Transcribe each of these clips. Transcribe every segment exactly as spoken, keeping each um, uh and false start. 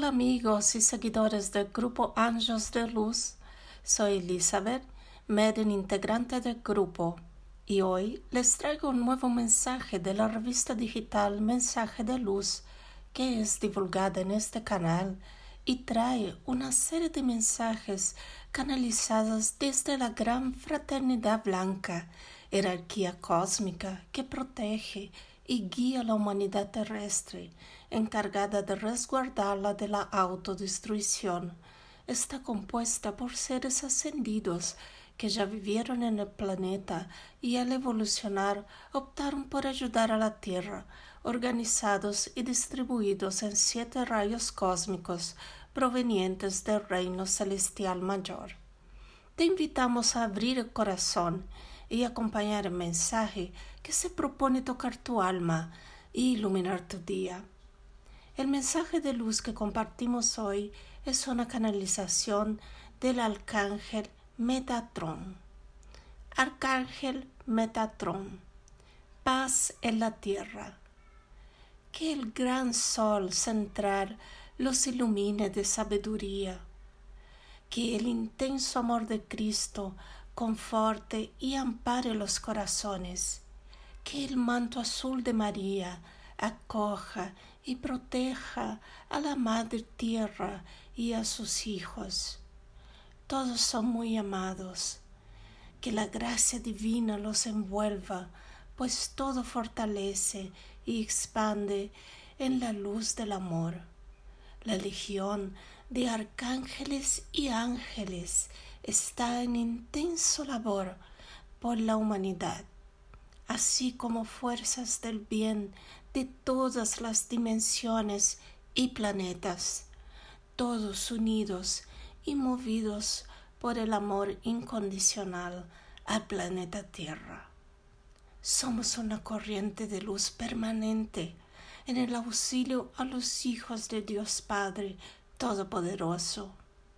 amigos y seguidores del grupo Anjos de Luz. Soy Elizabeth, medium integrante del grupo, y hoy les traigo un nuevo mensaje de la revista digital Mensaje de Luz, que es divulgada en este canal y trae una serie de mensajes canalizados desde la gran fraternidad blanca, jerarquía cósmica que protege y guía a la humanidad terrestre, encargada de resguardarla de la autodestrucción. Está compuesta por seres ascendidos que ya vivieron en el planeta y al evolucionar optaron por ayudar a la Tierra, organizados y distribuidos en siete rayos cósmicos provenientes del reino celestial mayor. Te invitamos a abrir el corazón y acompañar el mensaje que se propone tocar tu alma y iluminar tu día. El mensaje de luz que compartimos hoy es una canalización del Arcángel Metatrón. Arcángel Metatrón, paz en la tierra. Que el gran sol central los ilumine de sabiduría. Que el intenso amor de Cristo conforte y ampare los corazones. Que el manto azul de María acoja y proteja a la Madre Tierra y a sus hijos. Todos son muy amados. Que la gracia divina los envuelva, pues todo fortalece y expande en la luz del amor. La legión de arcángeles y ángeles está en intenso labor por la humanidad, así como fuerzas del bien de todas las dimensiones y planetas, todos unidos y movidos por el amor incondicional al planeta Tierra. Somos una corriente de luz permanente en el auxilio a los hijos de Dios Padre Todopoderoso.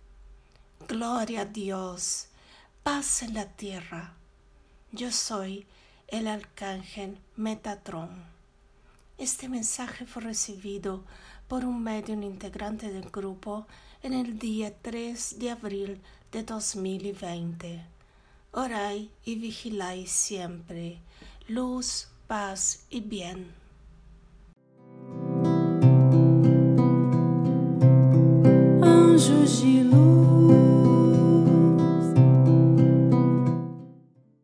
Gloria a Dios, paz en la tierra. Yo soy el Arcángel Metatrón. Este mensaje fue recibido por un medium integrante del grupo en el día tres de abril de dos mil veinte. Orai y vigiláis siempre. Luz, paz y bien.